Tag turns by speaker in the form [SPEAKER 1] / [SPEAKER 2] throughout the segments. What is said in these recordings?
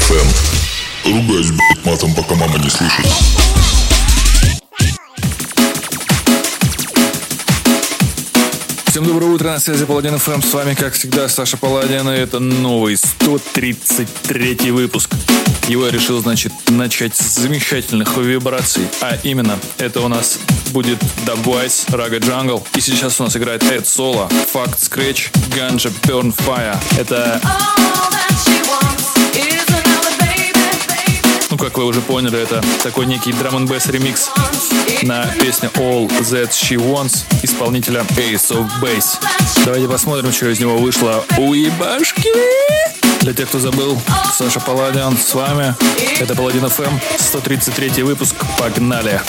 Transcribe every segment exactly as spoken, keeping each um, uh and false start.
[SPEAKER 1] эф эм. Ругаюсь, блять, матом, пока мама не слышит.
[SPEAKER 2] Всем доброе утро, на связи Паладин эф эм. С вами, как всегда, Саша Паладин. И это новый сто тридцать третий выпуск. Его я решил, значит, начать с замечательных вибраций. А именно, это у нас будет Dubwise, Raga Jungle. И сейчас у нас играет Эд Соло, Fact Scratch, Ganja Burn Fire. Это... Ну, как вы уже поняли, это такой некий драм-н-бэс ремикс на песню All That She Wants исполнителя Ace of Base. Давайте посмотрим, что из него вышло. Уебашки! Для тех, кто забыл, Саша Паладин с вами. Это Паладин эф эм, сто тридцать третий выпуск. Погнали!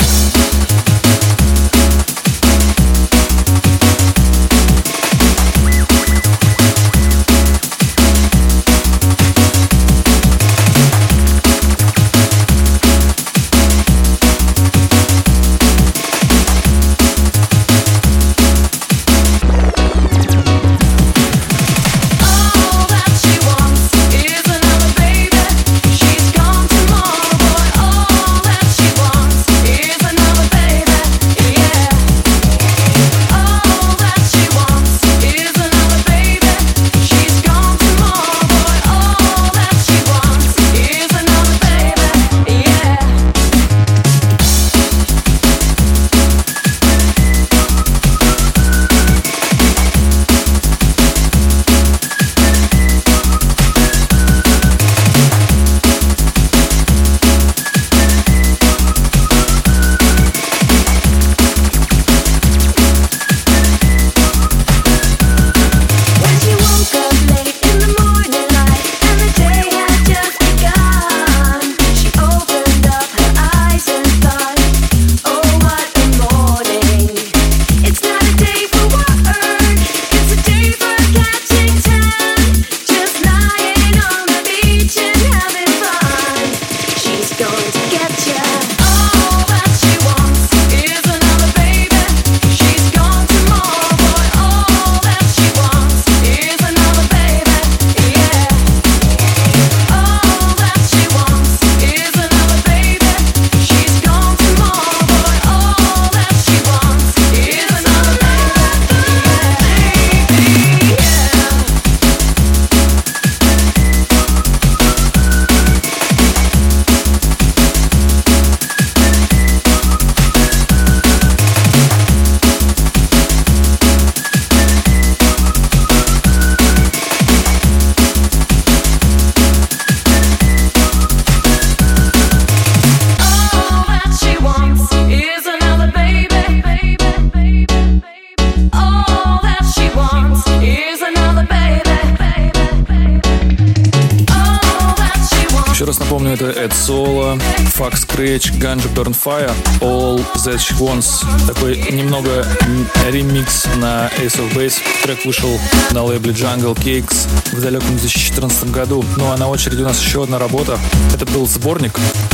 [SPEAKER 2] Это Эд Соло, Fact Scratch, Ganja Burn Fire, All That She Wants. Такой немного ремикс на Ace of Base. Трек вышел на лейбле Jungle Cakes в далеком две тысячи четырнадцатом году. Ну а на очереди у нас еще одна работа. Это был сборник.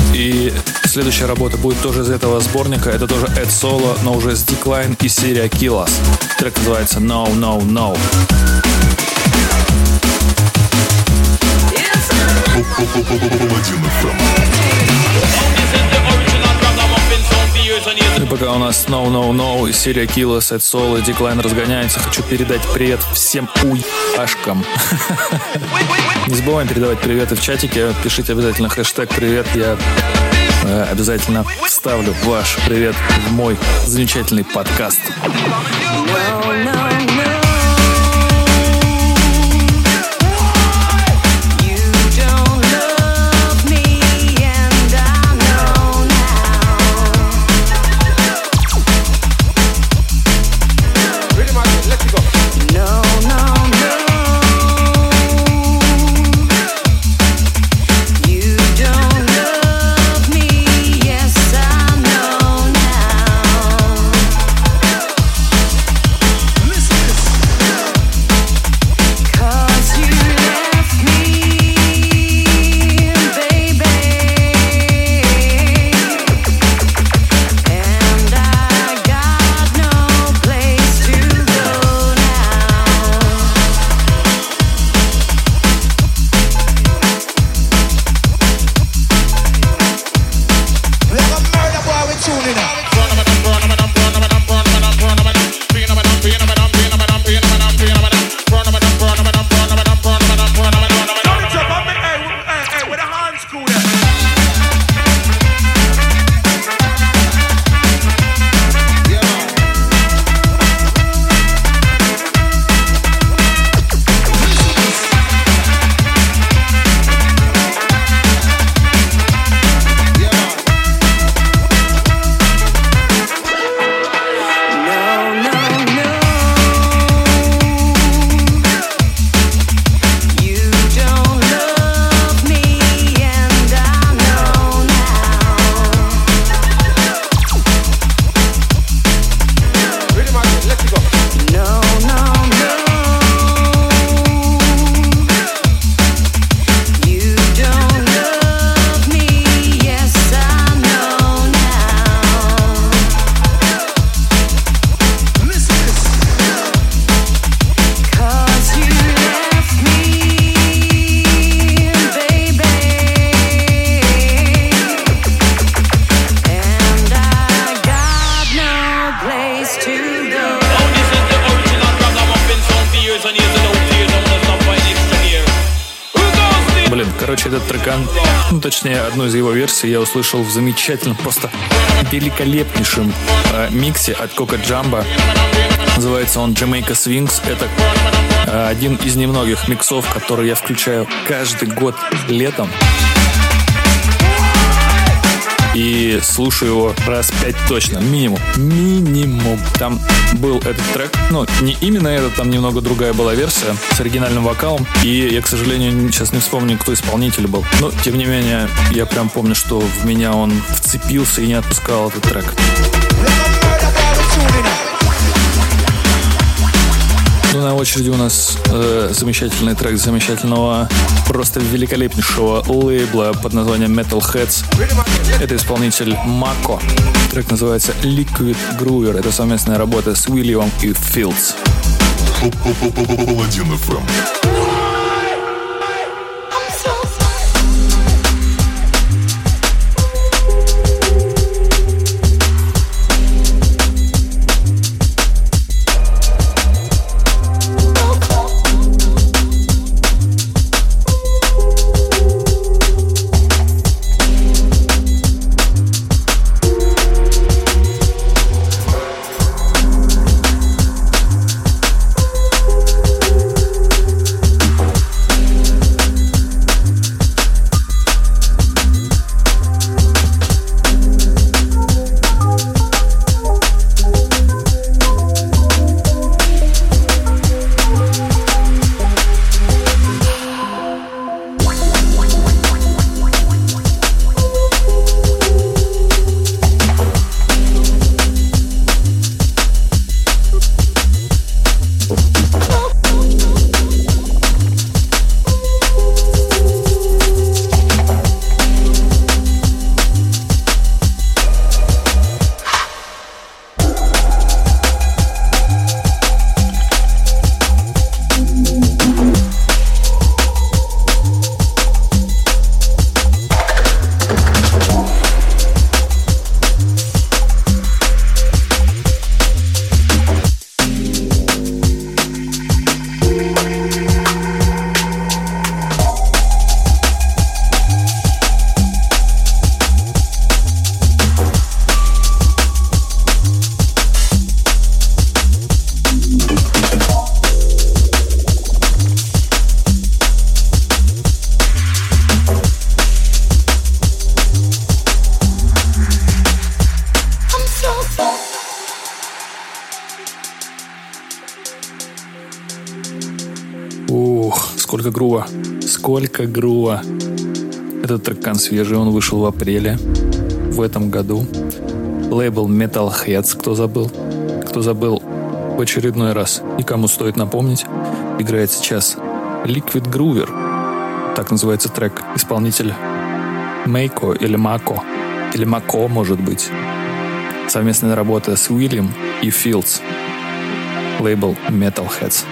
[SPEAKER 2] И следующая работа будет тоже из этого сборника. Это тоже Эд Соло, но уже с Decline и серия Kill Us. Трек называется No, No, No. И пока у нас No No No и серия Kill Us, Эд Соло и Decline разгоняется, хочу передать привет всем уебашкам. Не забываем передавать приветы в чатике. Пишите обязательно хэштег привет. Я э, обязательно вставлю ваш привет в мой замечательный подкаст. No, no.
[SPEAKER 3] Listen.
[SPEAKER 2] Короче, этот трекан, ну, точнее, одну из его версий я услышал в замечательном, просто великолепнейшем э, миксе от Кока Джамбо. Называется он Jamaica Swings. Это э, один из немногих миксов, которые я включаю каждый год летом. И слушаю его раз пять точно, минимум. Минимум. Там был этот трек, ну, не именно этот, там немного другая была версия с оригинальным вокалом. И я, к сожалению, сейчас не вспомню, кто исполнитель был. Но, тем не менее, я прям помню, что в меня он вцепился и не отпускал этот трек. Ну, на очереди у нас э, замечательный трек замечательного, просто великолепнейшего лейбла под названием Metalheads. Это исполнитель Мако. Трек называется Liquid Groover. Это совместная работа с Уильямом и Филдс.
[SPEAKER 1] Паладин эф эм.
[SPEAKER 2] Сколько грува. Сколько грува. Этот трекан свежий, он вышел в апреле в этом году. Лейбл Metalheads, кто забыл. Кто забыл в очередной раз. И кому стоит напомнить, играет сейчас Liquid Groover. Так называется трек. Исполнитель Мейко или Мако. Или Мако, может быть. Совместная работа с Уильям и Филдс. Лейбл Metalheads.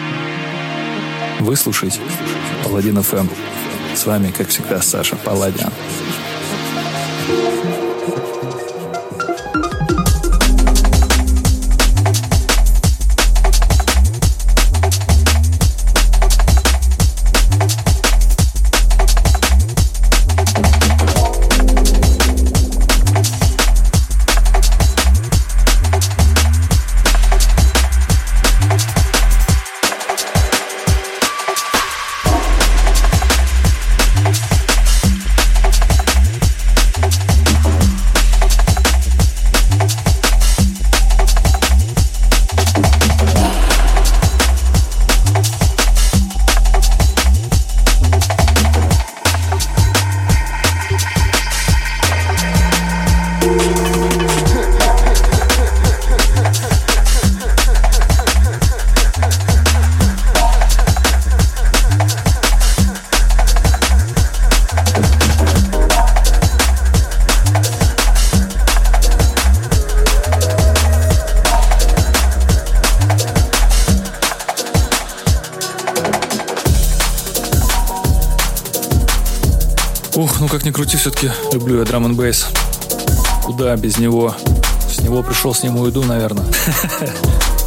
[SPEAKER 2] Вы слушаете Паладин эф эм. С вами, как всегда, Саша Паладин. Ух, ну как ни крути, все-таки люблю я драм н бейс. Куда без него? С него пришел, с ним уйду, наверное.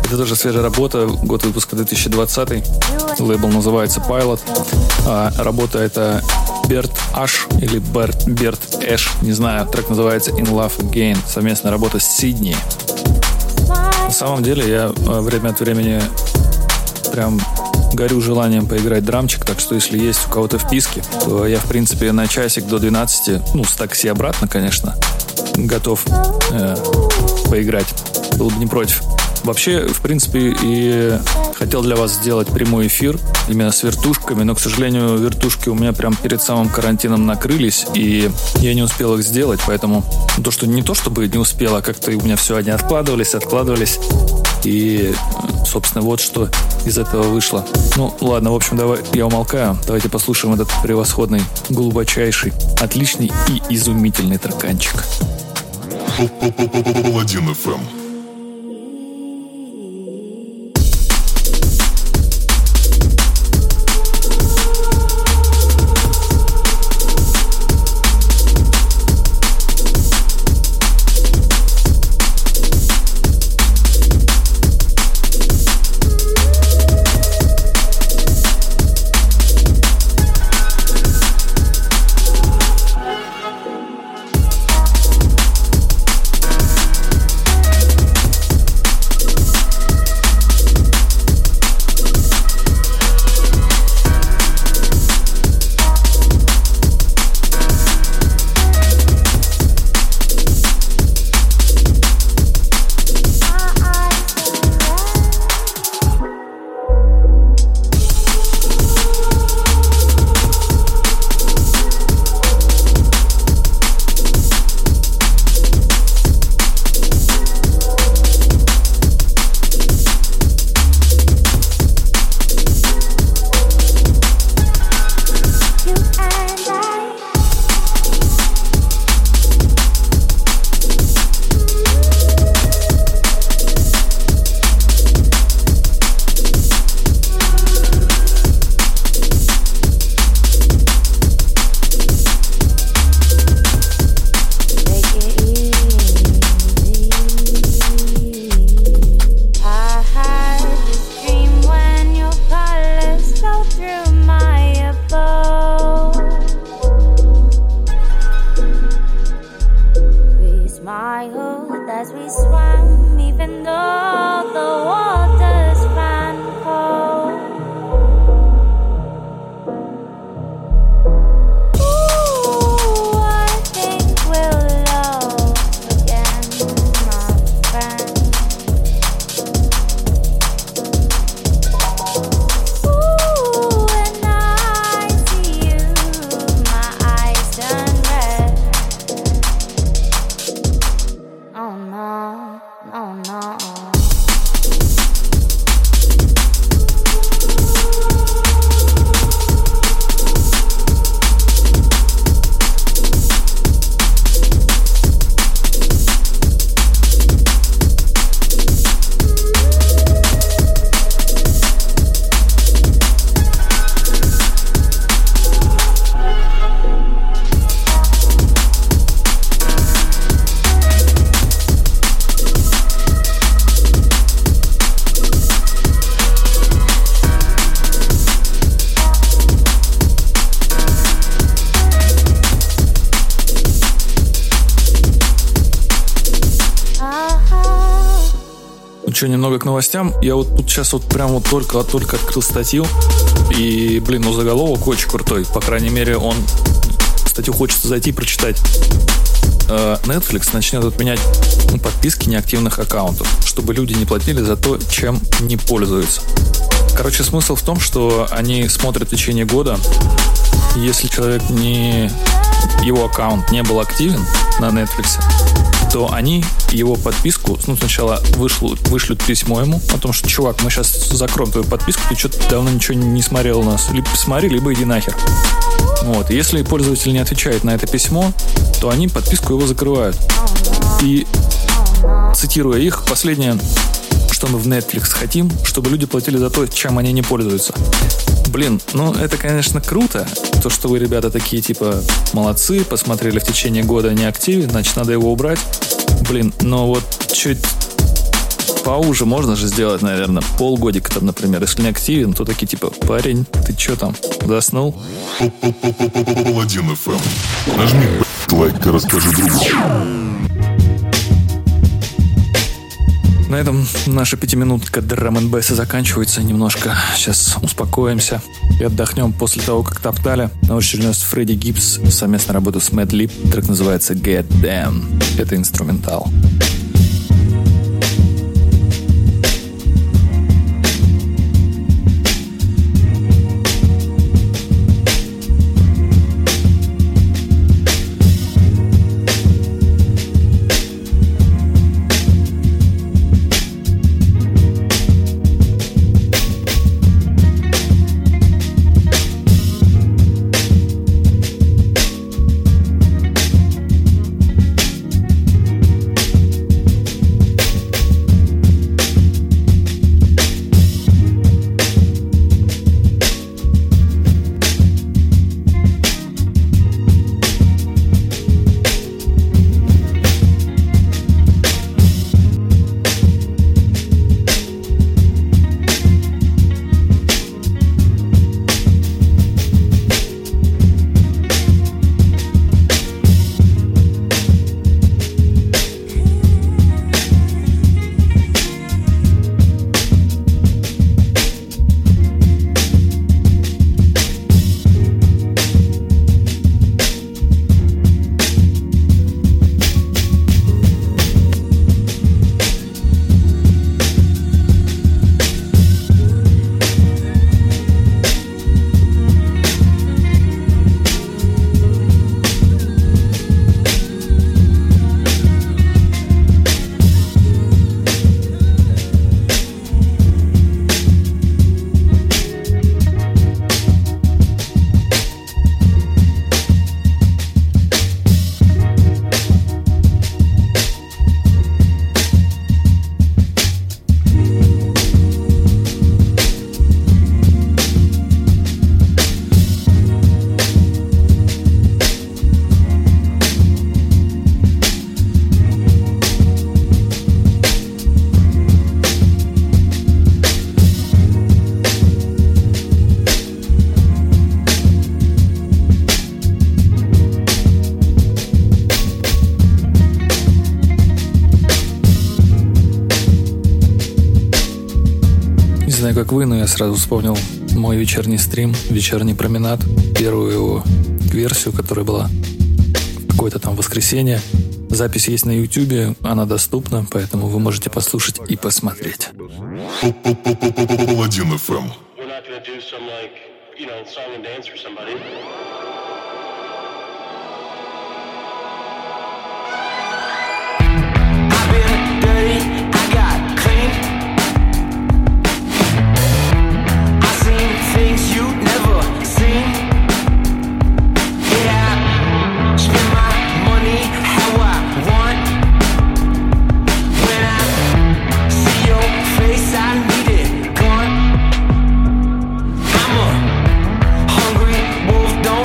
[SPEAKER 2] Это тоже свежая работа, год выпуска две тысячи двадцатый. Лейбл называется Pilot. А работа это Берт Аш или Берт, Берт Эш, не знаю. Трек называется In Love Again. Совместная работа с Сидни. На самом деле я время от времени прям горю желанием поиграть драмчик, так что если есть у кого-то вписки, то я, в принципе, на часик до двенадцати, ну, с такси обратно, конечно, готов э, поиграть. Был бы не против. Вообще, в принципе, и хотел для вас сделать прямой эфир именно с вертушками, но, к сожалению, вертушки у меня прям перед самым карантином накрылись, и я не успел их сделать, поэтому то, что не то, чтобы не успел, а как-то у меня все, они откладывались, откладывались, и, собственно, вот что из этого вышло. Ну, ладно, в общем, давай, я умолкаю. Давайте послушаем этот превосходный, глубочайший, отличный и изумительный треканчик.
[SPEAKER 1] Паладин эф эм.
[SPEAKER 2] Что, немного к новостям. Я вот тут сейчас вот прям вот только-только открыл статью. И, блин, ну заголовок очень крутой. По крайней мере, он... Статью хочется зайти и прочитать. Netflix начнет отменять ну, подписки неактивных аккаунтов, чтобы люди не платили за то, чем не пользуются. Короче, смысл в том, что они смотрят в течение года. Если человек не... его аккаунт не был активен на Netflix, то они его подписку, ну, сначала вышлют, вышлют письмо ему о том, что, чувак, мы сейчас закроем твою подписку, ты что-то давно ничего не смотрел у нас. Либо посмотри, либо иди нахер. Вот. Если пользователь не отвечает на это письмо, то они подписку его закрывают. И, цитируя их, последнее, что мы в Netflix хотим, чтобы люди платили за то, чем они не пользуются. Блин, ну это, конечно, круто, то, что вы, ребята, такие, типа, молодцы, посмотрели в течение года не активен, значит, надо его убрать. Блин, но вот чуть поуже можно же сделать, наверное, полгодика там, например. Если не активен, то такие типа: парень, ты чё там, заснул?
[SPEAKER 1] Паладин эф эм. Нажми лайк и расскажи другу.
[SPEAKER 2] На этом наша пятиминутка драм-н-бейса заканчивается. Немножко сейчас успокоимся и отдохнем после того, как топтали. На очереди у нас Фредди Гибс, совместная работа с Mad Lib. Трек называется Get Them. Это инструментал. знаю, как вы, но я сразу вспомнил мой вечерний стрим, вечерний променад, первую его версию, которая была в какое-то там воскресенье. Запись есть на Ютубе, она доступна, поэтому вы можете послушать и посмотреть.
[SPEAKER 1] Паладин эф эм.
[SPEAKER 3] Don't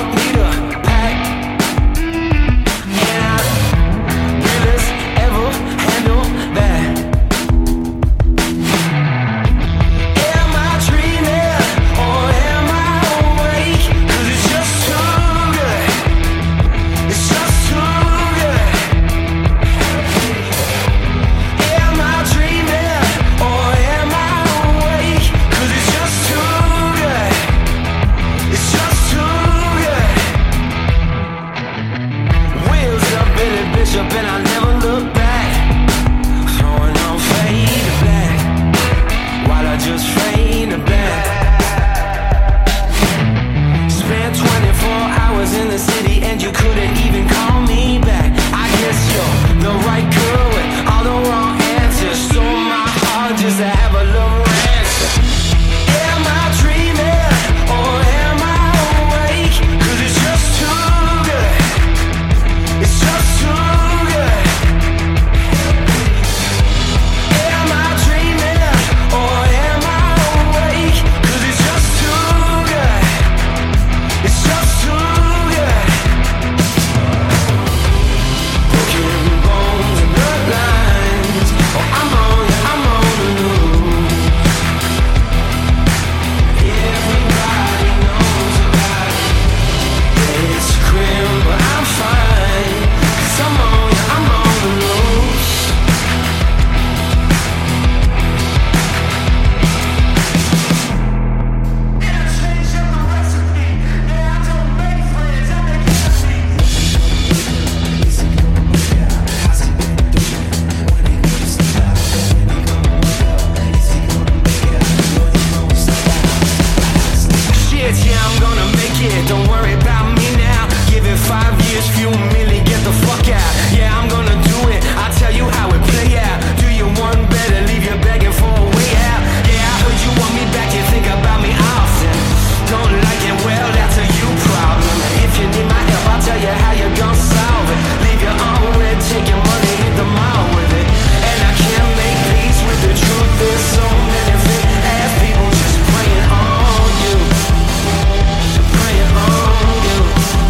[SPEAKER 3] don't worry about me now. Give it five years, few million, get the fuck out. Yeah, I'm gonna do it, I'll tell you how it play out. Do you want better, leave you begging for a way out. Yeah, I heard you want me back, you think about me often. Don't like it, well, that's a you problem. If you need my help, I'll tell you how you gon' solve it. Leave your own red, take your money, hit the mall with it. And I can't make peace with the truth, there's so many fit ass people just praying on you. Praying on you.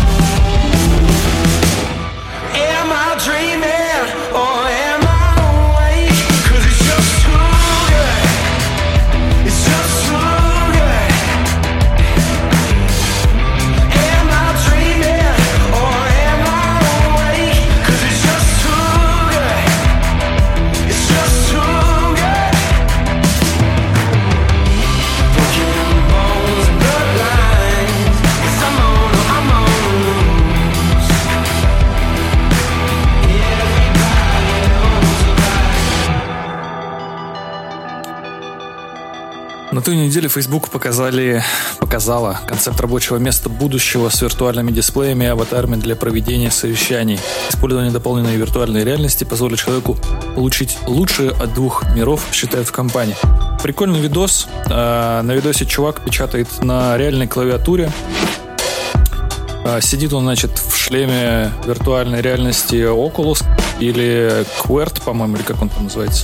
[SPEAKER 3] Am I dreaming or am I awake? Cause it's just too good. It's just too good. Am I dreaming or am I awake? Cause it's just too good. It's just too good. Broken bones and bloodlines. 'Cause I'm on, I'm on the loose. Everybody knows about it.
[SPEAKER 2] На той неделе Facebook показали, показала концепт рабочего места будущего с виртуальными дисплеями и аватарами для проведения совещаний. Использование дополненной виртуальной реальности позволит человеку получить лучшее от двух миров, считают в компании. Прикольный видос. А, На видосе чувак печатает на реальной клавиатуре. А, Сидит он, значит, в шлеме виртуальной реальности Oculus или Quert, по-моему, или как он там называется.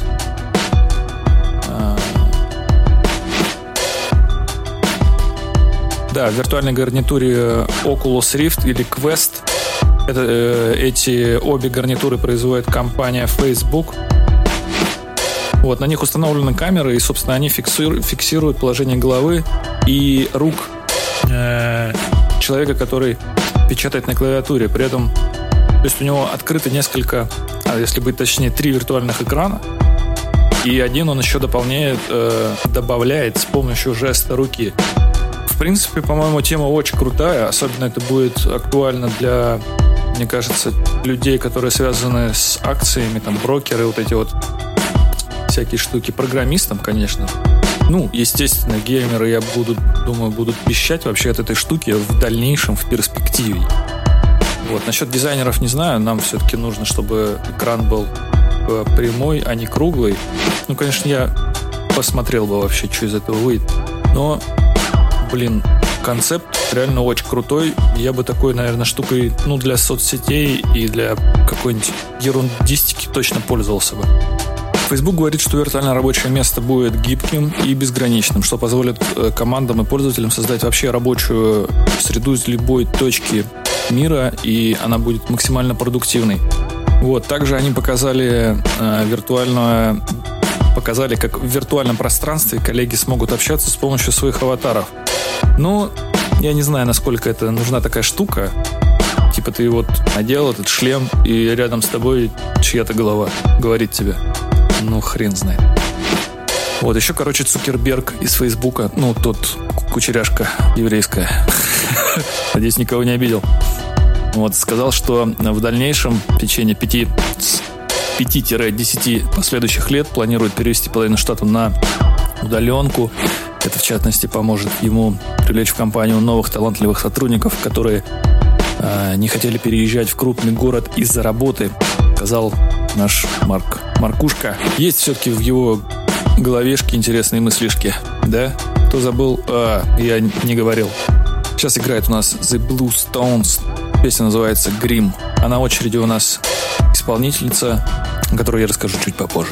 [SPEAKER 2] Да, в виртуальной гарнитуре Oculus Rift или Quest. Это, э, эти обе гарнитуры производит компания Facebook. Вот, на них установлены камеры, и, собственно, они фиксируют, фиксируют положение головы и рук э, человека, который печатает на клавиатуре. При этом, то есть у него открыто несколько, а если быть точнее, три виртуальных экрана. И один он еще дополняет, э, добавляет с помощью жеста руки. В принципе, по-моему, тема очень крутая. Особенно это будет актуально для, мне кажется, людей, которые связаны с акциями, там, брокеры, вот эти вот всякие штуки. Программистам, конечно. Ну, естественно, геймеры, я буду, думаю, будут пищать вообще от этой штуки в дальнейшем, в перспективе. Вот. Насчет дизайнеров не знаю. Нам все-таки нужно, чтобы экран был прямой, а не круглый. Ну, конечно, я посмотрел бы вообще, что из этого выйдет. Но блин, концепт реально очень крутой. Я бы такой, наверное, штукой, ну, для соцсетей и для какой-нибудь ерундистики точно пользовался бы. Facebook говорит, что виртуальное рабочее место будет гибким и безграничным, что позволит командам и пользователям создать вообще рабочую среду из любой точки мира, и она будет максимально продуктивной. Вот. Также они показали э, виртуальное показали, как в виртуальном пространстве коллеги смогут общаться с помощью своих аватаров. Ну, я не знаю, насколько это нужна такая штука. Типа ты вот надел этот шлем, и рядом с тобой чья-то голова говорит тебе. Ну, хрен знает. Вот, еще, короче, Цукерберг из Фейсбука, ну, тот кучеряшка еврейская, надеюсь, никого не обидел, вот, сказал, что в дальнейшем, в течение пяти пяти-десяти последующих лет планирует перевести половину штата на удаленку. Это, в частности, поможет ему привлечь в компанию новых талантливых сотрудников, которые э, не хотели переезжать в крупный город из-за работы, сказал наш Марк. Маркушка. Есть все-таки в его головешке интересные мыслишки, да? Кто забыл? А, я не говорил. Сейчас играет у нас The Blue Stones. Песня называется Grim. А на очереди у нас исполнительница, о которой я расскажу чуть попозже.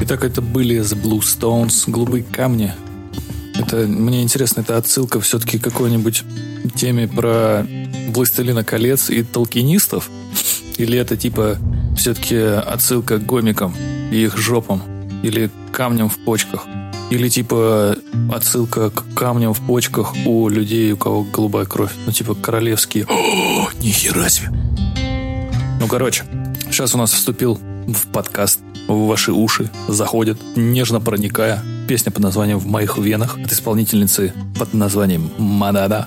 [SPEAKER 2] Итак, это были The Blue Stones, «Голубые камни». Это, мне интересно, это отсылка все-таки к какой-нибудь теме про «Властелина колец» и толкинистов? Или это типа все-таки отсылка к гомикам и их жопам? Или камням в почках? Или типа отсылка к камням в почках у людей, у кого голубая кровь? Ну типа королевские. О, нихера себе! Ну короче, сейчас у нас вступил в подкаст, в ваши уши заходит, нежно проникая, песня под названием «В моих венах» от исполнительницы под названием Манада.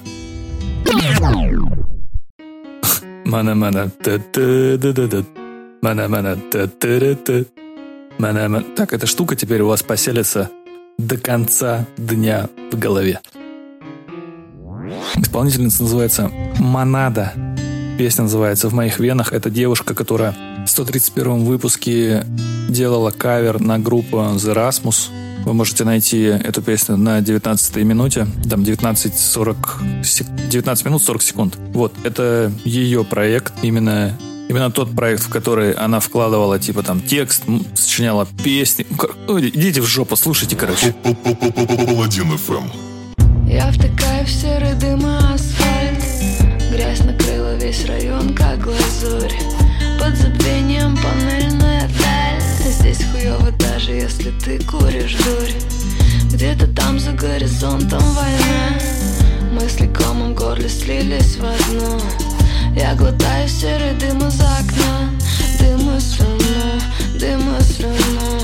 [SPEAKER 2] Мана-мана, та-та-да-да-да. Мана-мана, та-та-да-да. Мана-мана. Так, эта штука теперь у вас поселится до конца дня в голове. Исполнительница называется Манада. Песня называется «В моих венах». Это девушка, которая в сто тридцать первом выпуске делала кавер на группу The Rasmus. Вы можете найти эту песню на девятнадцатой минуте. Там девятнадцать сорок, девятнадцать минут сорок секунд. Вот, это ее проект. Именно, именно тот проект, в который она вкладывала, типа, там, текст, сочиняла песни. Ой, идите в жопу, слушайте, короче.
[SPEAKER 1] Паладин эф эм.
[SPEAKER 4] Я втыкаю в серый дым и асфальт. Грязь накрыла весь район, как глазурь. Под забвением панельная даль. Здесь хуёво, даже если ты куришь дурь. Где-то там за горизонтом война. Мысли комом в горле слились в одно. Я глотаю серый дым из окна. Дым из равно, дым из равно.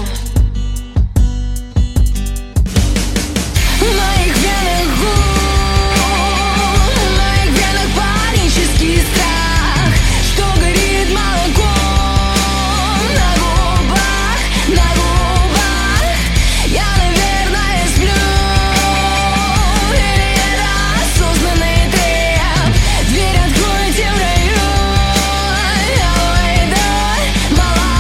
[SPEAKER 4] В моих венах гул, в моих венах панический страх, что горит молоком на губах, на губах. Я, наверное, сплю, или это осознанный треп. Дверь откройте в раю, я уйду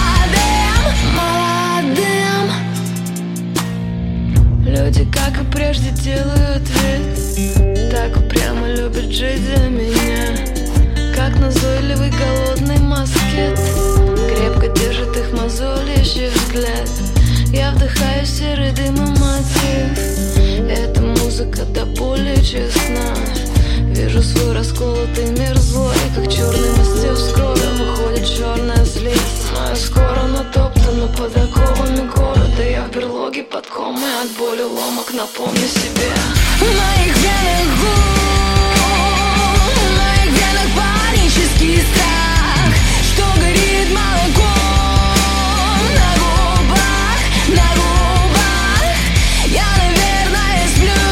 [SPEAKER 4] молодым, молодым. Люди, как и прежде, делают вид, так упрямо любят жить за меня. Как назойливый голодный москит, крепко держит их мозолящий взгляд. Я вдыхаю серый дым и мотив. Эта музыка до боли честна. Вижу свой расколотый мир злой, как черный мастер с крови выходит черная слизь. Знаю, скоро натоптана под оковами города. Я в берлоге под комой от боли ломок, напомню себе. В моих венах гул, в моих венах панический страх, что горит молоком на губах, на губах. Я, наверное, сплю,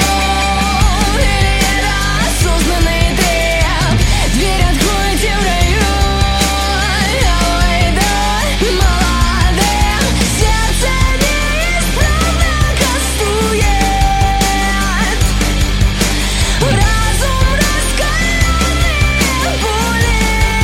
[SPEAKER 4] или это осознанный треп. Дверь откройте в раю, я уйду молодым. Сердце неисправно кастует, разум раскаленный пули.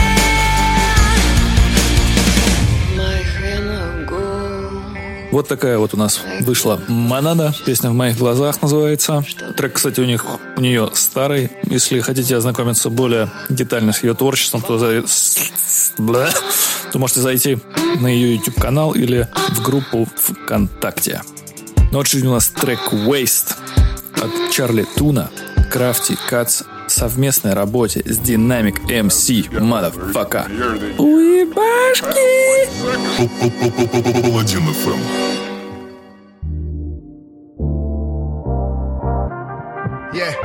[SPEAKER 4] В моих венах гул.
[SPEAKER 2] Вот такая вот у нас вышла Манада. Песня «В моих глазах» называется. Трек, кстати, у них у нее старый. Если хотите ознакомиться более детально с ее творчеством, то, за... Бля. то можете зайти на ее YouTube-канал или в группу ВКонтакте. Ну вот у нас трек «Waste» от Чарли Туна, Crafty Cuts в совместной работе с Dynamic эм си. Motherfucker. Уебашки!
[SPEAKER 1] Паладин эф эм.
[SPEAKER 5] Yeah.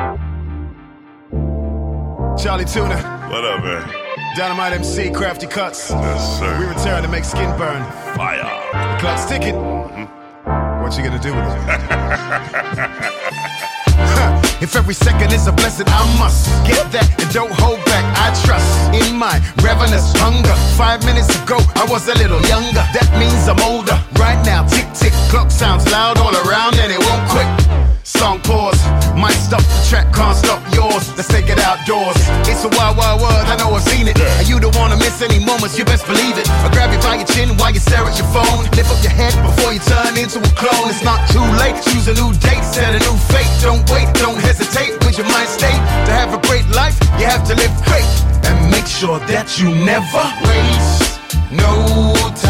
[SPEAKER 5] Charlie Tuna.
[SPEAKER 6] What up, man?
[SPEAKER 5] Dynamite M C, Crafty Cuts.
[SPEAKER 6] Yes, sir.
[SPEAKER 5] We return to make skin burn.
[SPEAKER 6] Fire.
[SPEAKER 5] The clock's ticking. What you gonna do with it? If every second is a blessing, I must get that and don't hold back. I trust in my ravenous hunger. Five minutes ago, I was a little younger. That means I'm older. Right now, tick tick, clock sounds loud all around and it won't quit. Song pause, might stop the track, can't stop yours. Let's take it outdoors. It's a wild, wild world, I know I've seen it. And you don't wanna miss any moments, you best believe it. I grab you by your chin while you stare at your phone. Lift up your head before you turn into a clone. It's not too late, choose a new date, set a new fate. Don't wait, don't hesitate, with your mind state. To have a great life, you have to live great. And make sure that you never waste no time.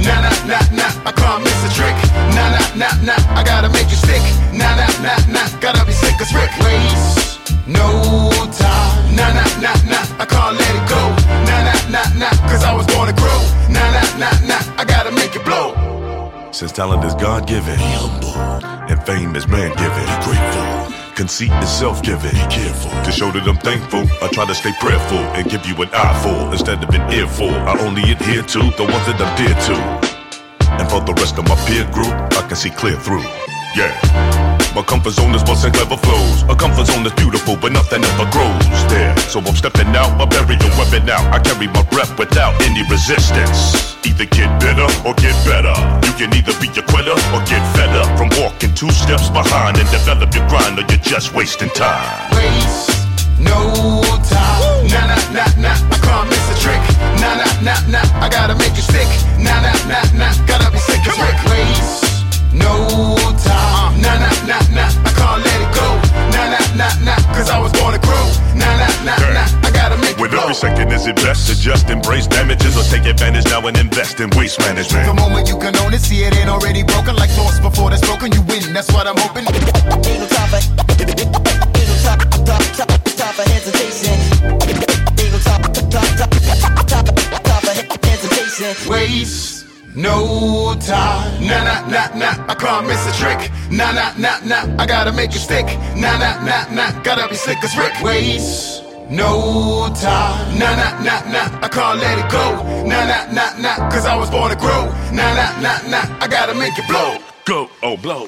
[SPEAKER 5] Nah, nah, nah, nah, I can't miss a trick. Nah, nah, nah, nah, I gotta make you stick. Nah, nah, nah, nah, gotta be slick as Rick. Waste no time. Nah, nah, nah, nah, I can't let it go. Nah, nah, nah, nah, cause I was born to grow. Nah, nah, nah, nah, I gotta make it blow.
[SPEAKER 6] Since talent is God-given, be humble, and fame is man-given, be grateful. Conceit is self-giving, be careful. To show that I'm thankful, I try to stay prayerful and give you an eyeful instead of an earful. I only adhere to the ones that I'm dear to. And for the rest of my peer group, I can see clear through. Yeah. My comfort zone is busting clever flows. A comfort zone is beautiful, but nothing ever grows there. So I'm stepping out, I bury the weapon out. I carry my breath without any resistance. Either get better or get better. You can either be a quitter or get fed up from walking two steps behind and develop your grind, or you're just wasting time.
[SPEAKER 5] Waste no time. Nah, nah, nah, nah, I can't miss a trick. Nah, nah, nah, nah, I gotta make you stick. Nah, nah, nah, nah, gotta be sick as Rick. Waste no time. Nah, nah, nah, nah, I can't let it go. Nah, nah, nah, nah, cause I was born to grow. Nah, nah, nah, nah, I gotta make it
[SPEAKER 6] With
[SPEAKER 5] blow.
[SPEAKER 6] every second is it best to just embrace damages or take advantage now and invest in waste management.
[SPEAKER 5] The moment you can own it, see it ain't already broken. Like thoughts before that's broken, you win, that's what I'm hoping.
[SPEAKER 7] Ain't no time for, ain't no time, time, time, time for hesitation. Ain't no time, time, time, time, time for hesitation.
[SPEAKER 5] Waste no time. Nah, nah, nah, nah, I can't miss a trick. Nah, nah, nah, nah, I gotta make it stick. Nah, nah, nah, nah, gotta be slick as Rick. Waste no time. Nah, nah, nah, nah, I can't let it go. Nah, nah, nah, nah, cause I was born to grow. Nah, nah, nah, nah, I gotta make it blow.
[SPEAKER 6] Go, oh, blow.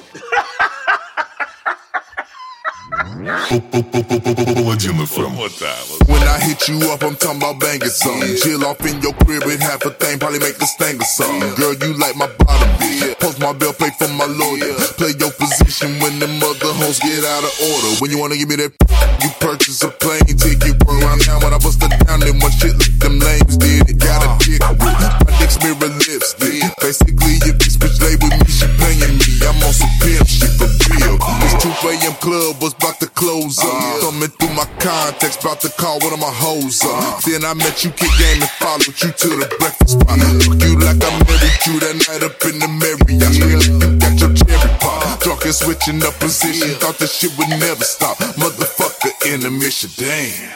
[SPEAKER 1] Паладин эф эм.
[SPEAKER 6] One time.
[SPEAKER 8] When I hit you up, I'm talking about banging something. Chill off in your crib with half a thing, probably make the sting or something. Girl, you like my bottom bitch. Post my bill, play for my lawyer. Play your position when the mother hoes get out of order. When you wanna give me that, you purchase a plane ticket. Run around town when I bust it down, then one shit like them lames did. It got a dick with my dick's mirror lipstick. Basically, if this bitch lay with me, she paying me. I'm on some pimp shit for real. This two a.m. club was about to close up. Thumbing through my contacts, about to call one of my hoes up. Then I met you, kick game, and followed you to the breakfast spot. Look you like I married you that night up in the Marriott. Still, you got your cherry pop. Drunk and switching up position, thought this shit would never stop. Motherfucker in the mission, damn.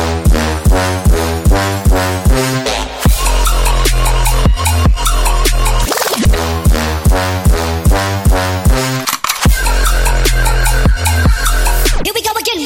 [SPEAKER 7] Here we go again.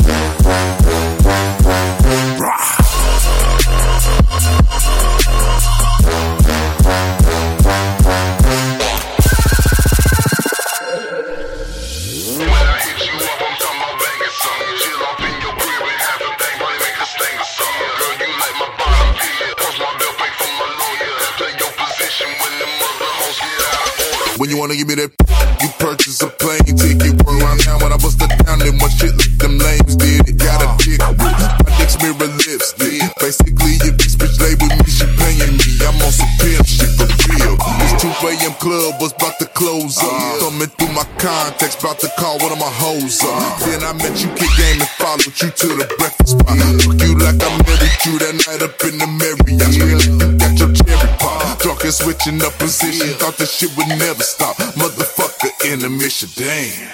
[SPEAKER 8] When you wanna give me that, you purchase a plane ticket. Run around town when I bust it down, then one shit like them lames did. It got a dick with my dick's mirror lipstick. Basically, if this bitch lay with me, she paying me. I'm on some pimp shit for real. This two a.m. club was about to close up. Thumbing through my contacts, about to call one of my hoes up. Then I met you, kick game, and followed you to the breakfast spot. Look you like I married you that night up in the Marriott. Still, you got your cherry pop. Drunk and switching up position, thought this shit would never stop. Motherfucker in the mission, damn.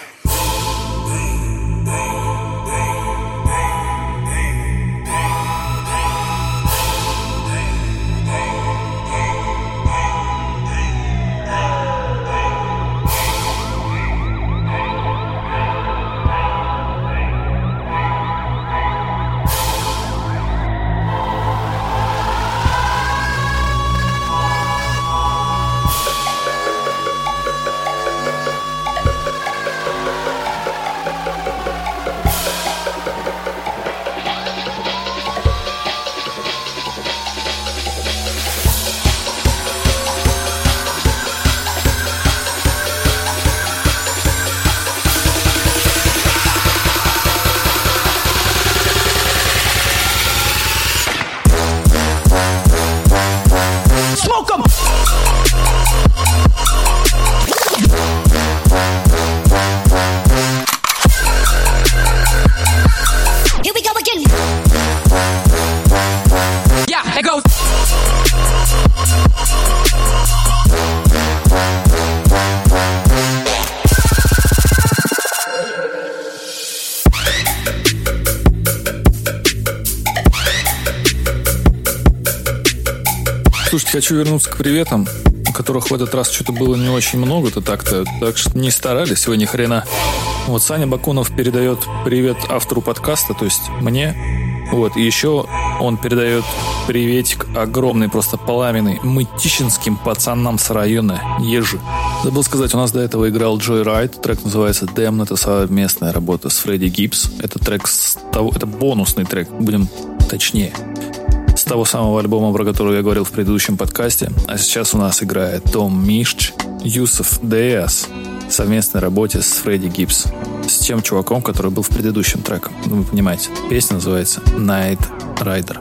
[SPEAKER 2] Слушайте, хочу вернуться к приветам, у которых в этот раз что-то было не очень много-то так-то, так что не старались вы ни хрена. Вот Саня Бакунов передает привет автору подкаста, то есть мне. Вот, и еще он передает приветик огромный, просто пламенный, мытищинским пацанам с района Ежи. Забыл сказать, у нас до этого играл Joy Ride, трек называется Damn, это совместная работа с Фредди Гибс. Это трек с того, это бонусный трек, будем точнее, с того самого альбома, про который я говорил в предыдущем подкасте. А сейчас у нас играет Том Мишч, Юсеф Диас в совместной работе с Фредди Гибс, с тем чуваком, который был в предыдущем треке. Ну, вы понимаете, песня называется Night Rider.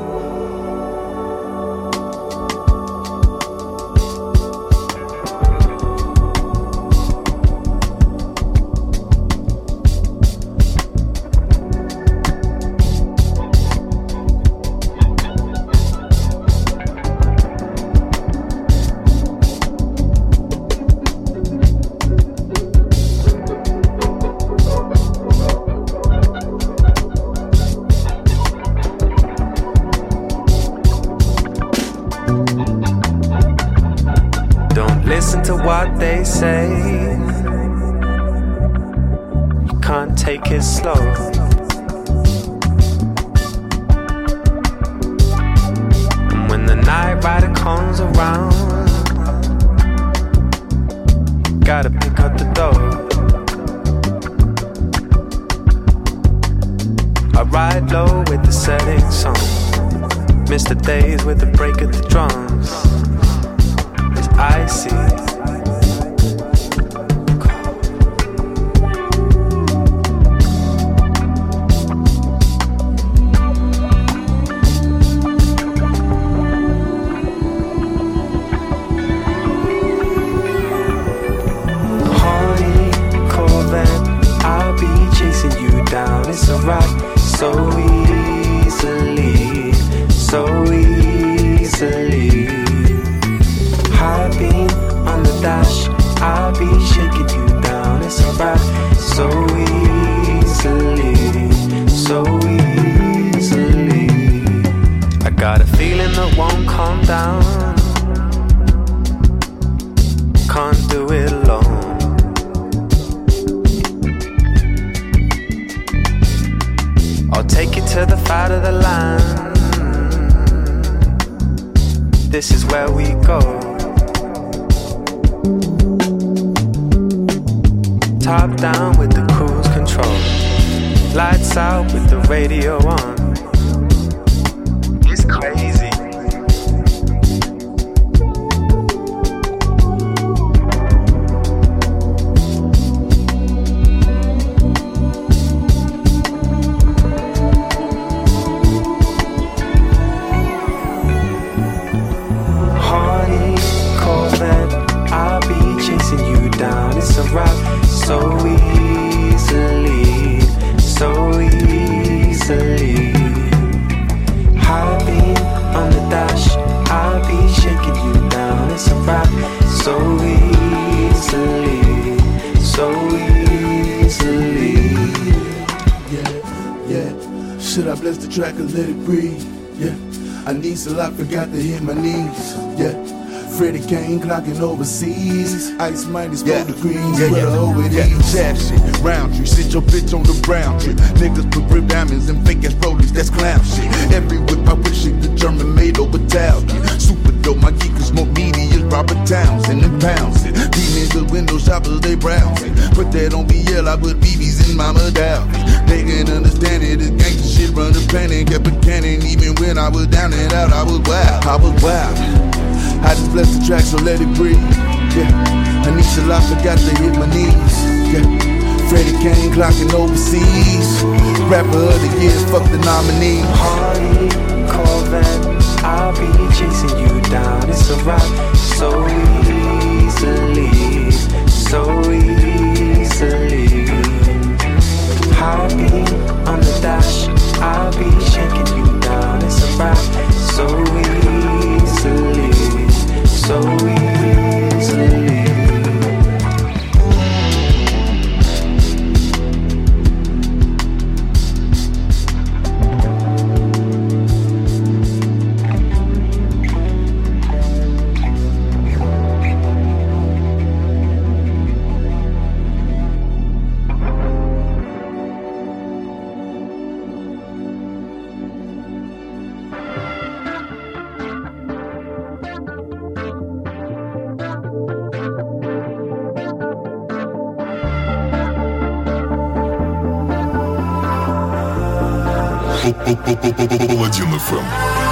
[SPEAKER 9] Listen to what they say. You can't take it slow. And when the night rider comes around, gotta pick up the dough. I ride low with the setting sun, miss the days with the break of the drums. I see. Honey, Corvette, I'll be chasing you down. It's a ride so easily, so easily. High beam on the dash, I'll be shaking you down. It's a ride so easily, so easily. I got a feeling that won't calm down. Can't do it alone. I'll take you to the fat of the land. This is where we go. Top down with the cruise control, lights out with the radio on. It's crazy. Honey, Corvette, I'll be chasing you down. It's a ride so easily, so easily. High beam on the dash, I'll be shaking you down. It's a ride so easily, so easily.
[SPEAKER 10] Yeah, yeah. Should I bless the track or let it breathe? Yeah. I need a lot, forgot to hit my knees. Yeah. Freddie Kane clocking overseas. Ice minus four
[SPEAKER 5] Yeah.
[SPEAKER 10] degrees.
[SPEAKER 5] Yeah,
[SPEAKER 10] Where
[SPEAKER 5] yeah,
[SPEAKER 10] the hoe it
[SPEAKER 5] yeah.
[SPEAKER 10] is.
[SPEAKER 5] Sad shit, round tree. Sit your bitch on the brown tree. Niggas put rib diamonds and fake ass rollies. That's clown shit. Every whip I wish it the German made over Italian. Super dope, my geek is more meaty as Robert Townsend and pounds it. These niggas window shoppers, they browsing. Put that on B L, I put B Bs in Mama Dow. They can understand it, this gangsta shit run the planet. Kept a cannon, even when I was down and out, I was wild, I was wild. I just bless the track, so let it breathe. Yeah, I need a lot, forgot to hit my knees. Yeah, Freddie Kane clocking overseas. Rapper of the year, fuck the nominee.
[SPEAKER 9] Hardy, Corvette, I'll be chasing you down. It's a ride so easily, so easily. High beam on the dash, I'll be shaking you down. It's a ride so easily, so easily.
[SPEAKER 1] Паладин эф эм.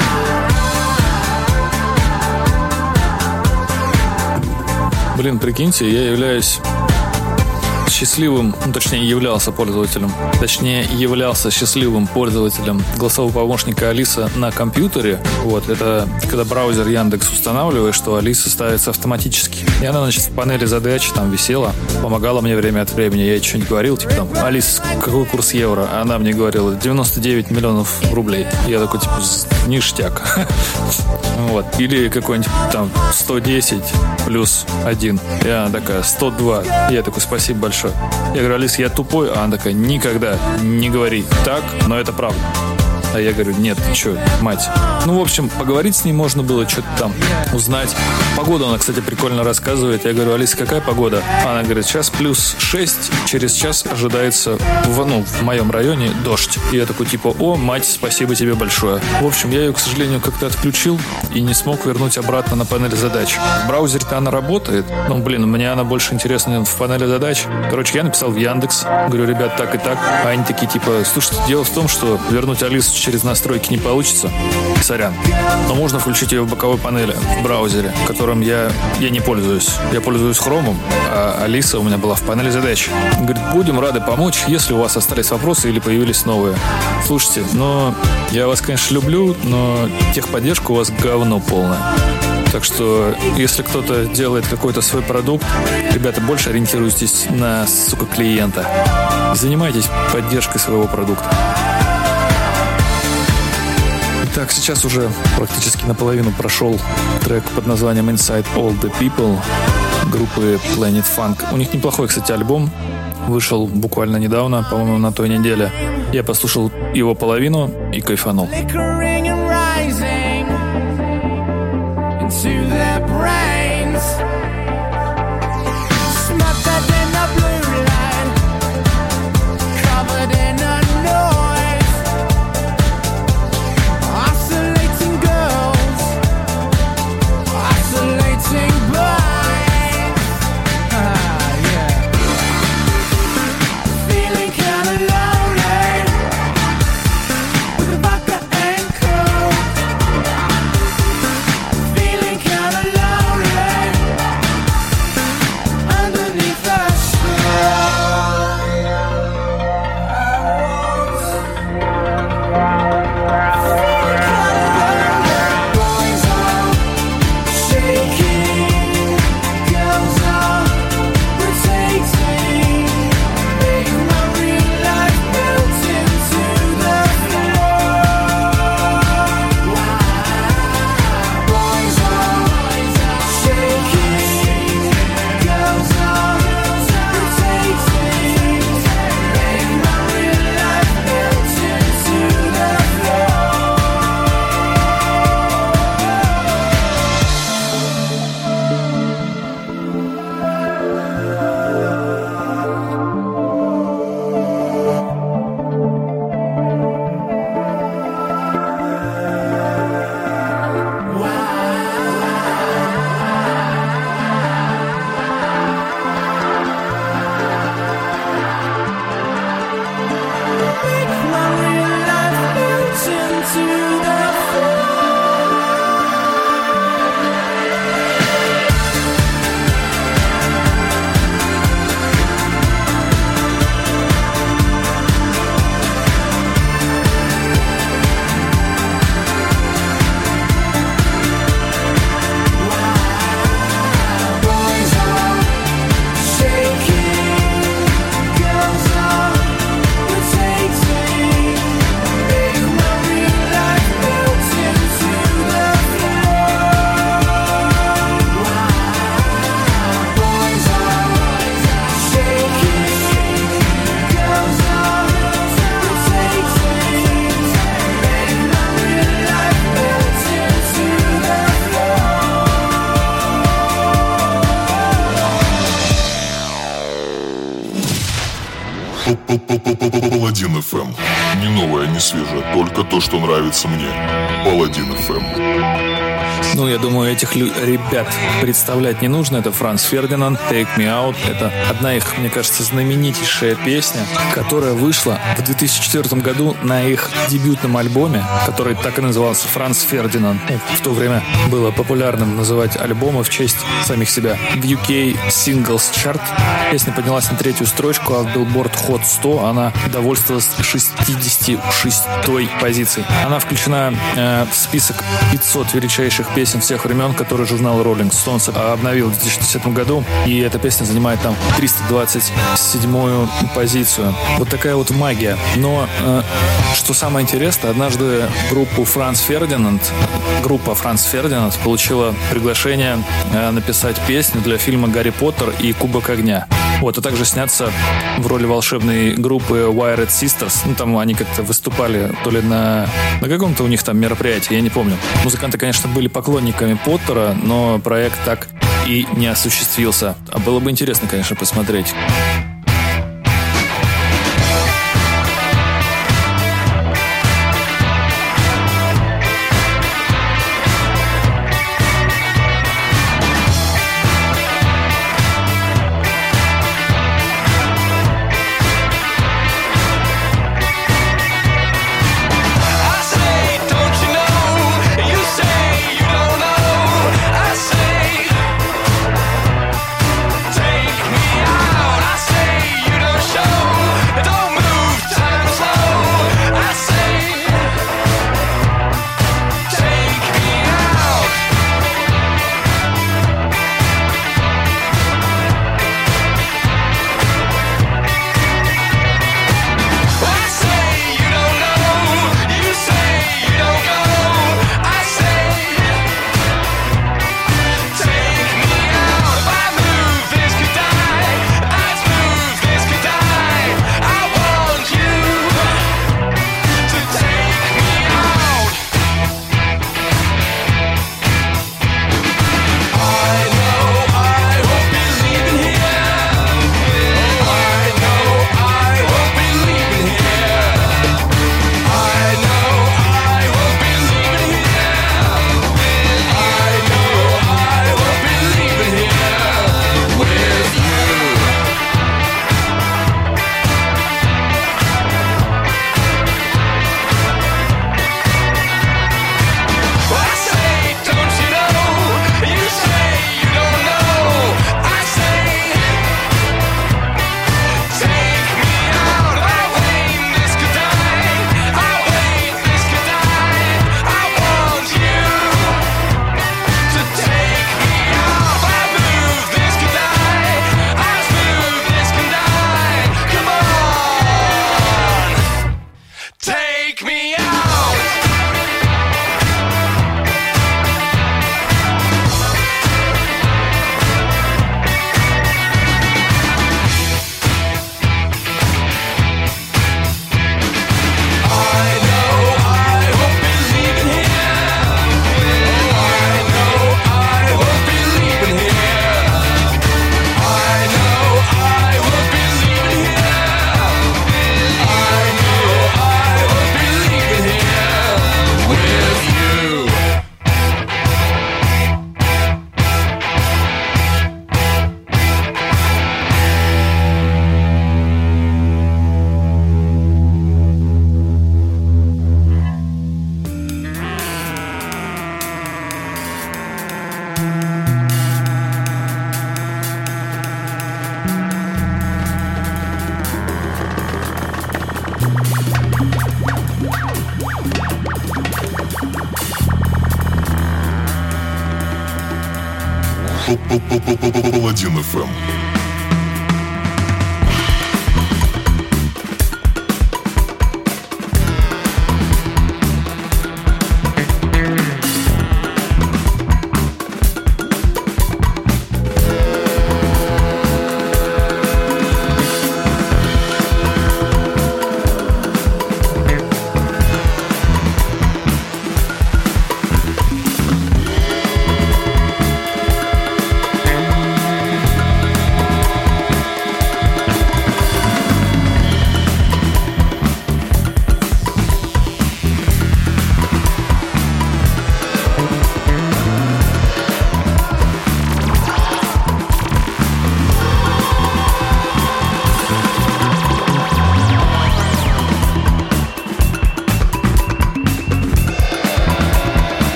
[SPEAKER 2] Блин, прикиньте, я являюсь счастливым, ну, точнее, являлся пользователем, точнее, являлся счастливым пользователем голосового помощника Алиса на компьютере. Вот, это когда браузер Яндекс устанавливаешь, что Алиса ставится автоматически. И она, значит, в панели задач там висела, помогала мне время от времени. Я ей что-нибудь говорил, типа там, Алис, какой курс евро? А она мне говорила, девяносто девять миллионов рублей. Я такой, типа, ништяк. Вот. Или какой-нибудь там сто десять плюс один. И она такая, сто два. Я такой, спасибо большое. Я говорю, Алис, я тупой. А она такая, никогда не говори так, но это правда. А я говорю, нет, ты что, мать. Ну, в общем, поговорить с ней можно было, что-то там узнать. Погоду она, кстати, прикольно рассказывает. Я говорю, Алиса, какая погода? Она говорит, сейчас плюс шесть, через час ожидается, в, ну, в моем районе дождь. И я такой, типа, о, мать, спасибо тебе большое. В общем, я ее, к сожалению, как-то отключил и не смог вернуть обратно на панель задач. В браузере-то она работает. Ну, блин, мне она больше интересна в панели задач. Короче, я написал в Яндекс. Говорю, ребят, так и так. А они такие, типа, слушайте, дело в том, что вернуть Алису через настройки не получится. Сорян. Но можно включить ее в боковой панели в браузере, которым я, я не пользуюсь. Я пользуюсь Хромом, а Алиса у меня была в панели задач. Говорит, будем рады помочь, если у вас остались вопросы или появились новые. Слушайте, но я вас, конечно, люблю, но техподдержка у вас говно полное. Так что, если кто-то делает какой-то свой продукт, ребята, больше ориентируйтесь на, сука, клиента. Занимайтесь поддержкой своего продукта. Так, сейчас уже практически наполовину прошел трек под названием Inside All the People группы Planet Funk. У них неплохой, кстати, альбом. Вышел буквально недавно, по-моему, на той неделе. Я послушал его половину и кайфанул.
[SPEAKER 1] Паладин эф эм. Не новое, не свежее, только то, что нравится мне. Паладин эф эм.
[SPEAKER 2] Ну, я думаю, этих лю- ребят представлять не нужно. Это Франц Фердинанд, Take Me Out. Это одна их, мне кажется, знаменитейшая песня, которая вышла в две тысячи четвёртом году на их дебютном альбоме, который так и назывался «Франц Фердинанд». В то время было популярным называть альбомы в честь самих себя. В ю кей Singles Chart песня поднялась на третью строчку, а в Billboard Hot сто она довольствовалась шестьдесят шестой позицией. Она включена э, в список пятисот величайших песен всех времен, которые журнал Rolling Stones обновил в две тысячи десятом году, и эта песня занимает там триста двадцать седьмую позицию. Вот такая вот магия. Но э, что самое интересное, однажды группу Франц Фердинанд, группа Франц Фердинанд получила приглашение э, написать песню для фильма «Гарри Поттер и Кубок огня». Вот, а также сняться в роли волшебной группы Wired Sisters. Ну, там они как-то выступали то ли на, на каком-то у них там мероприятии, я не помню. Музыканты, конечно, были поклонниками Поттера, но проект так и не осуществился. А было бы интересно, конечно, посмотреть.
[SPEAKER 1] Паладин эф эм.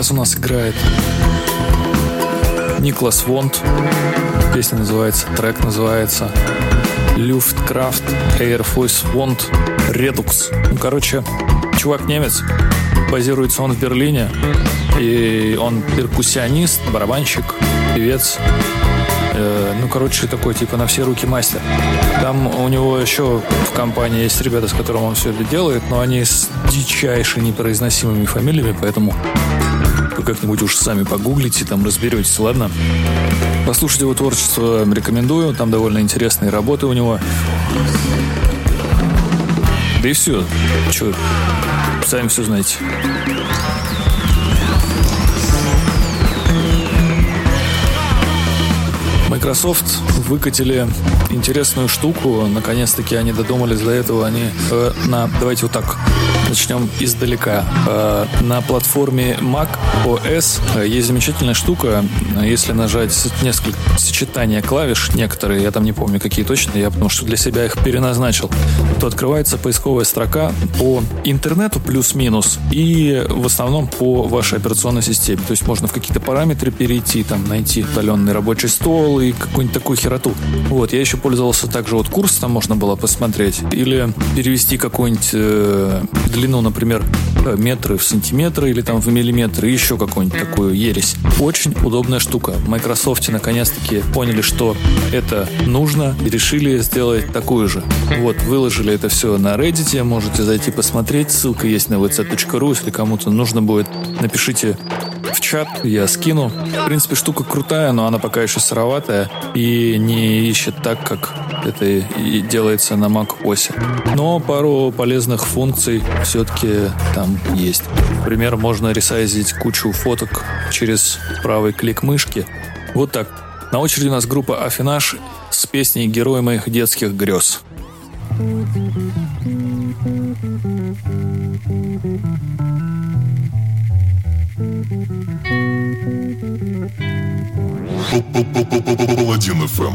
[SPEAKER 2] сейчас у нас играет Никлас Вонт. Песня называется, трек называется Luftkraft Air Force Want Redux. Ну, короче, чувак немец, базируется он в Берлине, и он перкуссионист, барабанщик, певец. Э, ну, короче, такой типа на все руки мастер. Там у него еще в компании есть ребята, с которыми он все это делает, но они с дичайше непроизносимыми фамилиями, поэтому вы как-нибудь уж сами погуглите, там разберетесь, ладно? Послушать его творчество рекомендую, там довольно интересные работы у него. Да и все. Че, сами все знаете. Microsoft выкатили интересную штуку. Наконец-таки они додумались до этого. Они э, на, давайте вот так начнем издалека. Э, на платформе Mac о эс э, есть замечательная штука. Если нажать несколько сочетания клавиш, некоторые, я там не помню, какие точно, я потому что для себя их переназначил, то открывается поисковая строка по интернету плюс-минус и в основном по вашей операционной системе. То есть можно в какие-то параметры перейти, там найти удаленный рабочий стол и какую-нибудь такую хероту. Вот, я еще пользовался также вот курс, там можно было посмотреть. Или перевести какую-нибудь э, длину, например, метры в сантиметры или там в миллиметры, и еще какую-нибудь такую ересь. Очень удобная штука. В Microsoft наконец-таки поняли, что это нужно, и решили сделать такую же. Вот, выложили это все на Reddit, можете зайти посмотреть. Ссылка есть на ви си точка ру, если кому-то нужно будет, напишите в чат, я скину. В принципе, штука крутая, но она пока еще сыроватая и не ищет так, как это и делается на macOS. Но пару полезных функций все-таки там есть. Например, можно ресайзить кучу фоток через правый клик мышки. Вот так. На очереди у нас группа Афинаж с песней «Герой моих детских грез».
[SPEAKER 1] Паладин эф эм.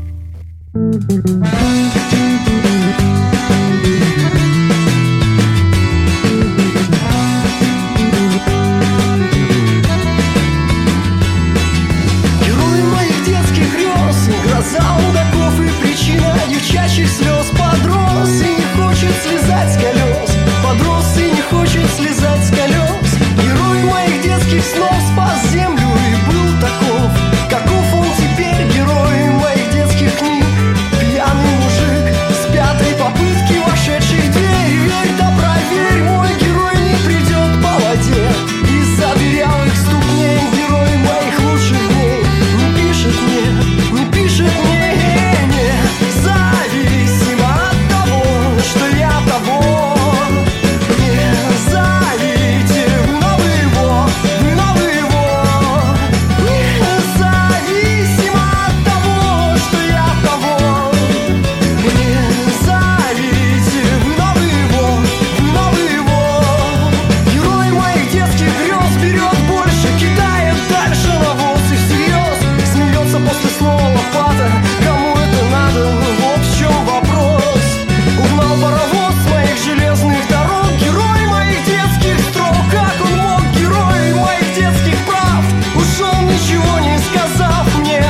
[SPEAKER 3] Герой моих детских грез, гроза мудаков и причина девчачьих слез. Подрос и не хочет слезать с колес, подрос и не хочет слезать с колес. Герой моих детских снов спас землю и был таков, каков он теперь, герой моих детских книг. Пьяный мужик с пятой попытки вошедший в дверь. Верь да проверь, мой герой не придет по воде. Из-за дырявых ступней герой моих лучших дней не пишет мне, не пишет мне, не зависимо от того, что я того. Не зовите вы новый его, вы новый его. Не зависимо от того, что я того. Не зовите вы новый его, вы новый его. Герой моих детских грез берет больше, кидает дальше навоз и всерьез смеется после слова лопата. Кому это надо? Вот в чем вопрос. Угнал паровоз с моих железных дорог. Герой моих детских строк. Как он мог, герой моих детских прав? Ушел, ничего не сказав мне.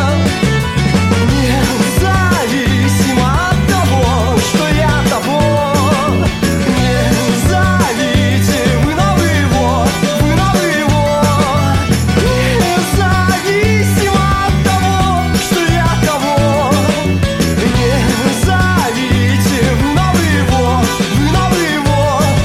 [SPEAKER 3] Независимо от того, что я того. Не зовите вы новый его, вы новый его. Независимо от того, что я того. Не зовите вы новый его, вы новый его.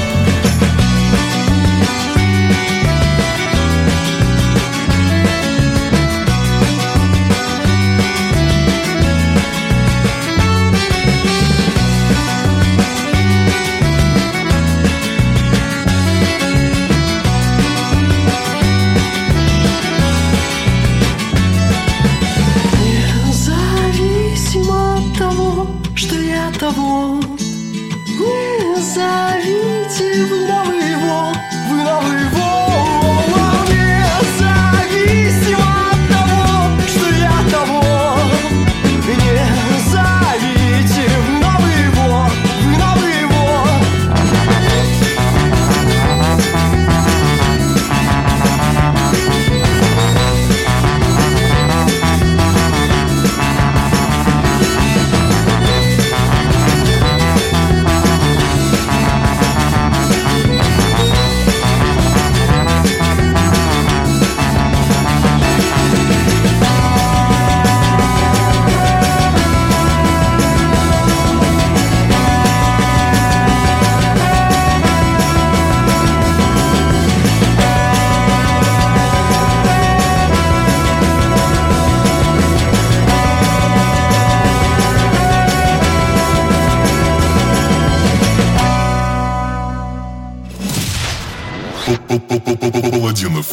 [SPEAKER 3] Независимо от того, что я того. Не зовите вы новый его, вы новый его. Независимо от того, что я того. Не зовите вы новый его, вы новый его.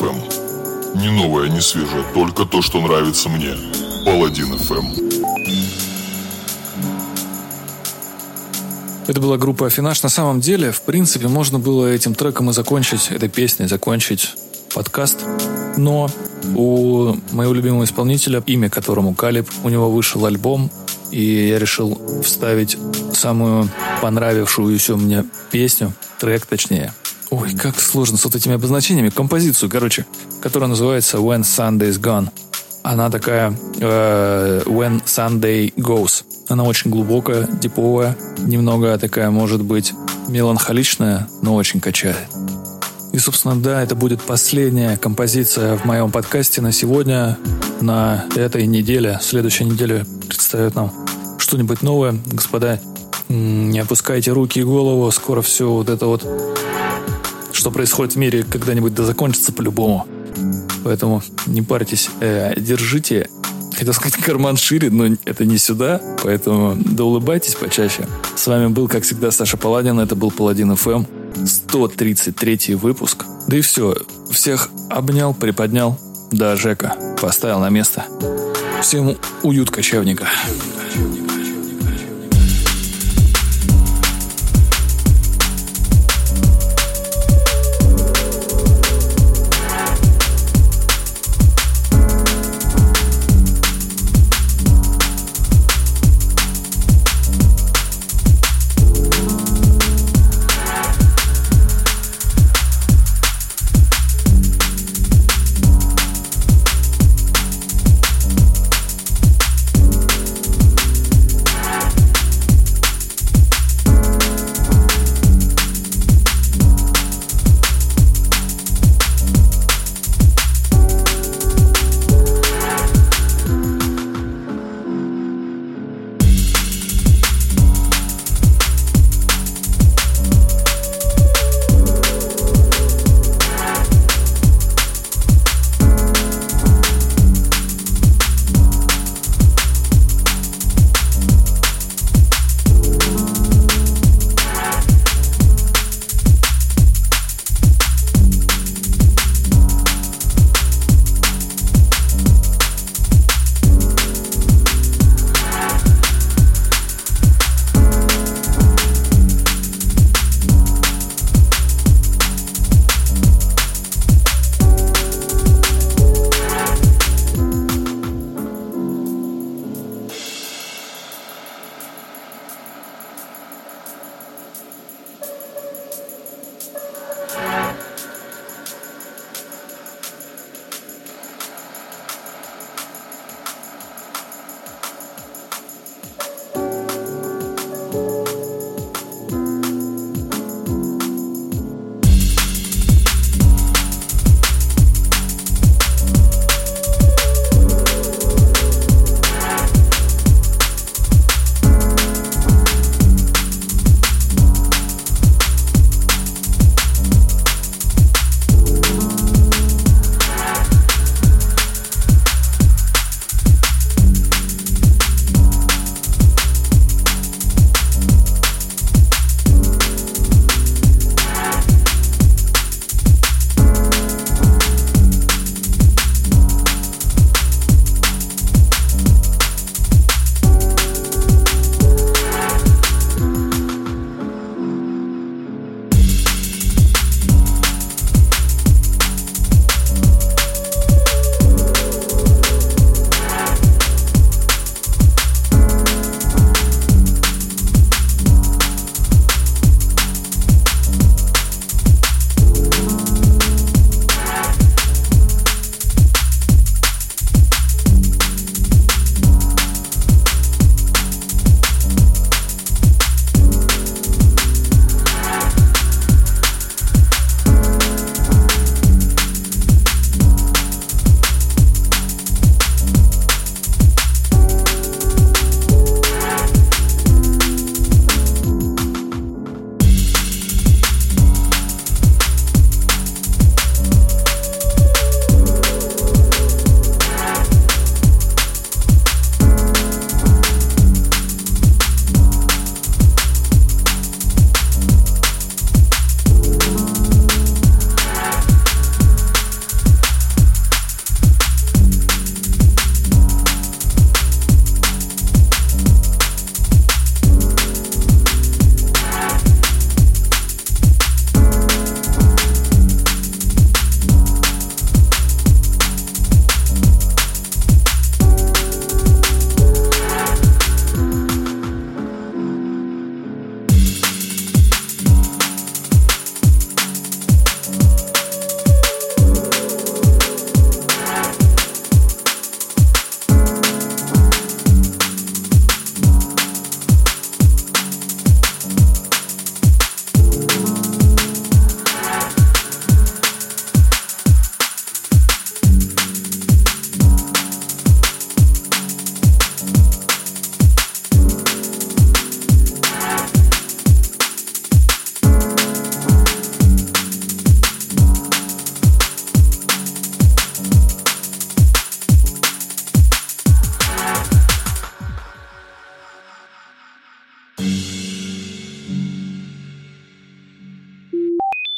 [SPEAKER 1] эф эм. Не новое, не свежее, только то, что нравится мне. Паладин эф эм.
[SPEAKER 2] Это была группа Афинаж. На самом деле, в принципе, можно было этим треком и закончить, этой песней закончить подкаст. Но у моего любимого исполнителя, имя которому Калиб, у него вышел альбом, и я решил вставить самую понравившуюся мне песню, трек точнее. Ой, как сложно с вот этими обозначениями. Композицию, короче, которая называется When Sunday's Gone. Она такая э, When Sunday Goes. Она очень глубокая, диповая, немного такая, может быть, меланхоличная, но очень качает. И, собственно, да, это будет последняя композиция в моем подкасте на сегодня, на этой неделе. Следующая неделя представит нам что-нибудь новое. Господа, не опускайте руки и голову. Скоро все вот это вот, что происходит в мире, когда-нибудь да закончится по-любому. Поэтому не парьтесь, э, держите, хотел сказать, карман шире, но это не сюда, поэтому да улыбайтесь почаще. С вами был, как всегда, Саша Паладин, это был Паладин эф эм, сто тридцать третий выпуск. Да и все, всех обнял, приподнял, да, Жека поставил на место. Всем уют кочевника.